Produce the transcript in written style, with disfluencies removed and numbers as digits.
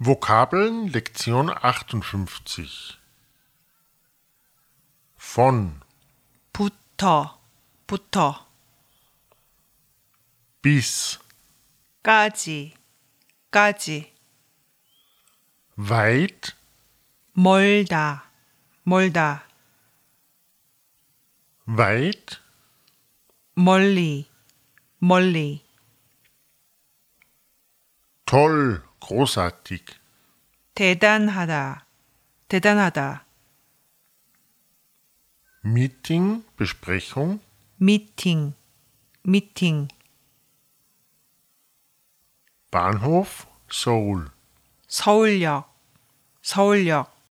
Vokabeln Lektion 58 von 부터 bis 까지 weit 멀다 weit 멀리 toll großartig 대단하다 Meeting Besprechung 미팅 Bahnhof Seoul 서울역